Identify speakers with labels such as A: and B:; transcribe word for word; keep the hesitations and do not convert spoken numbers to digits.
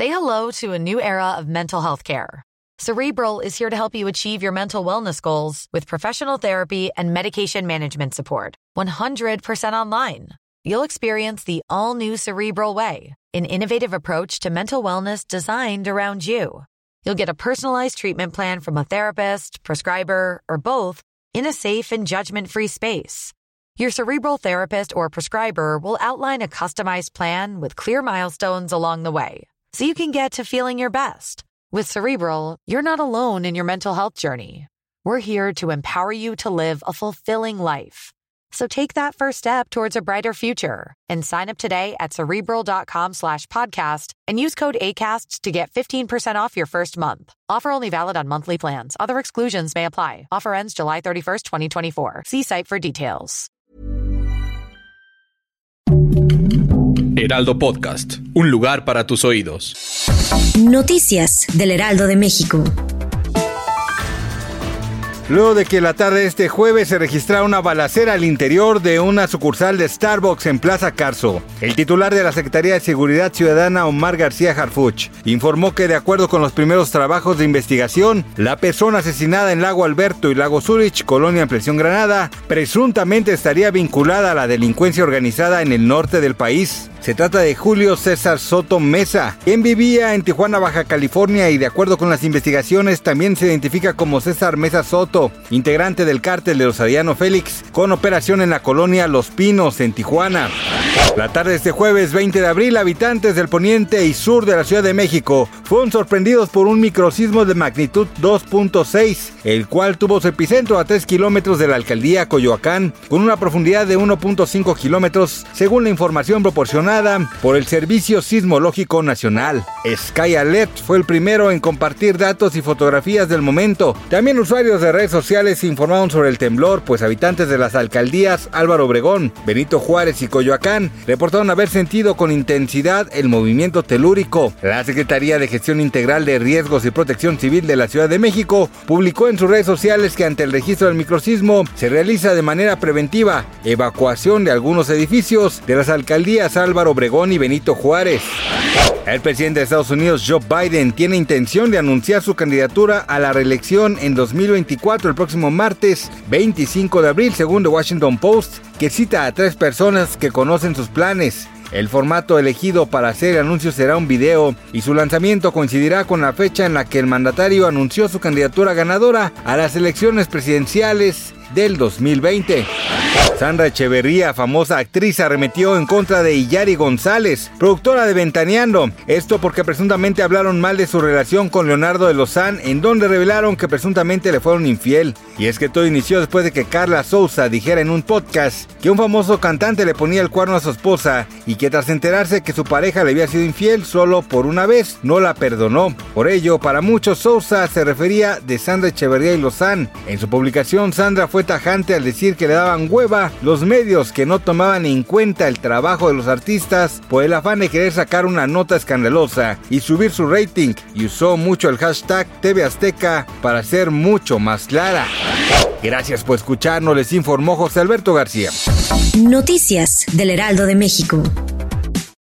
A: Say hello to a new era of mental health care. Cerebral is here to help you achieve your mental wellness goals with professional therapy and medication management support. one hundred percent online. You'll experience the all-new Cerebral Way, an innovative approach to mental wellness designed around you. You'll get a personalized treatment plan from a therapist, prescriber, or both in a safe and judgment-free space. Your Cerebral therapist or prescriber will outline a customized plan with clear milestones along the way, so you can get to feeling your best. With Cerebral, you're not alone in your mental health journey. We're here to empower you to live a fulfilling life. So take that first step towards a brighter future and sign up today at Cerebral.com slash podcast and use code ACAST to get fifteen percent off your first month. Offer only valid on monthly plans. Other exclusions may apply. Offer ends July thirty-first, twenty twenty-four. See site for details.
B: Heraldo Podcast, un lugar para tus oídos.
C: Noticias del Heraldo de México.
D: Luego de que la tarde de este jueves se registrara una balacera al interior de una sucursal de Starbucks en Plaza Carso, el titular de la Secretaría de Seguridad Ciudadana, Omar García Harfuch, informó que de acuerdo con los primeros trabajos de investigación, la persona asesinada en Lago Alberto y Lago Zurich, colonia Ampliación Granada, presuntamente estaría vinculada a la delincuencia organizada en el norte del país. Se trata de Julio César Soto Mesa, quien vivía en Tijuana, Baja California, y de acuerdo con las investigaciones también se identifica como César Mesa Soto, integrante del cártel de los Arellano Félix, con operación en la colonia Los Pinos, en Tijuana. La tarde de este jueves veinte de abril, habitantes del poniente y sur de la Ciudad de México fueron sorprendidos por un microsismo de magnitud dos punto seis, el cual tuvo su epicentro a tres kilómetros de la alcaldía Coyoacán, con una profundidad de uno punto cinco kilómetros, según la información proporcionada por el Servicio Sismológico Nacional. Sky Alert fue el primero en compartir datos y fotografías del momento. También usuarios de redes sociales informaron sobre el temblor, pues habitantes de las alcaldías Álvaro Obregón, Benito Juárez y Coyoacán reportaron haber sentido con intensidad el movimiento telúrico. La Secretaría de Gestión Integral de Riesgos y Protección Civil de la Ciudad de México publicó en sus redes sociales que ante el registro del microsismo se realiza de manera preventiva evacuación de algunos edificios de las alcaldías Álvaro Obregón y Benito Juárez. El presidente de Estados Unidos, Joe Biden, tiene intención de anunciar su candidatura a la reelección en dos mil veinticuatro el próximo martes veinticinco de abril, según The Washington Post, que cita a tres personas que conocen sus planes. El formato elegido para hacer el anuncio será un video y su lanzamiento coincidirá con la fecha en la que el mandatario anunció su candidatura ganadora a las elecciones presidenciales del dos mil veinte. Sandra Echeverría, famosa actriz, arremetió en contra de Iyari González, productora de Ventaneando. Esto porque presuntamente hablaron mal de su relación con Leonardo de Lozán, en donde revelaron que presuntamente le fueron infiel. Y es que todo inició después de que Carla Souza dijera en un podcast que un famoso cantante le ponía el cuerno a su esposa y que tras enterarse que su pareja le había sido infiel solo por una vez, no la perdonó. Por ello, para muchos, Souza se refería de Sandra Echeverría y Lozán. En su publicación, Sandra fue tajante al decir que le daban hueva los medios que no tomaban en cuenta el trabajo de los artistas por el afán de querer sacar una nota escandalosa y subir su rating, y usó mucho el hashtag T V Azteca para ser mucho más clara. Gracias por escucharnos, les informó José Alberto García.
C: Noticias del Heraldo de México.